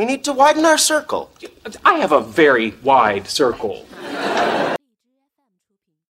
We need to widen our circle. I have a very wide circle.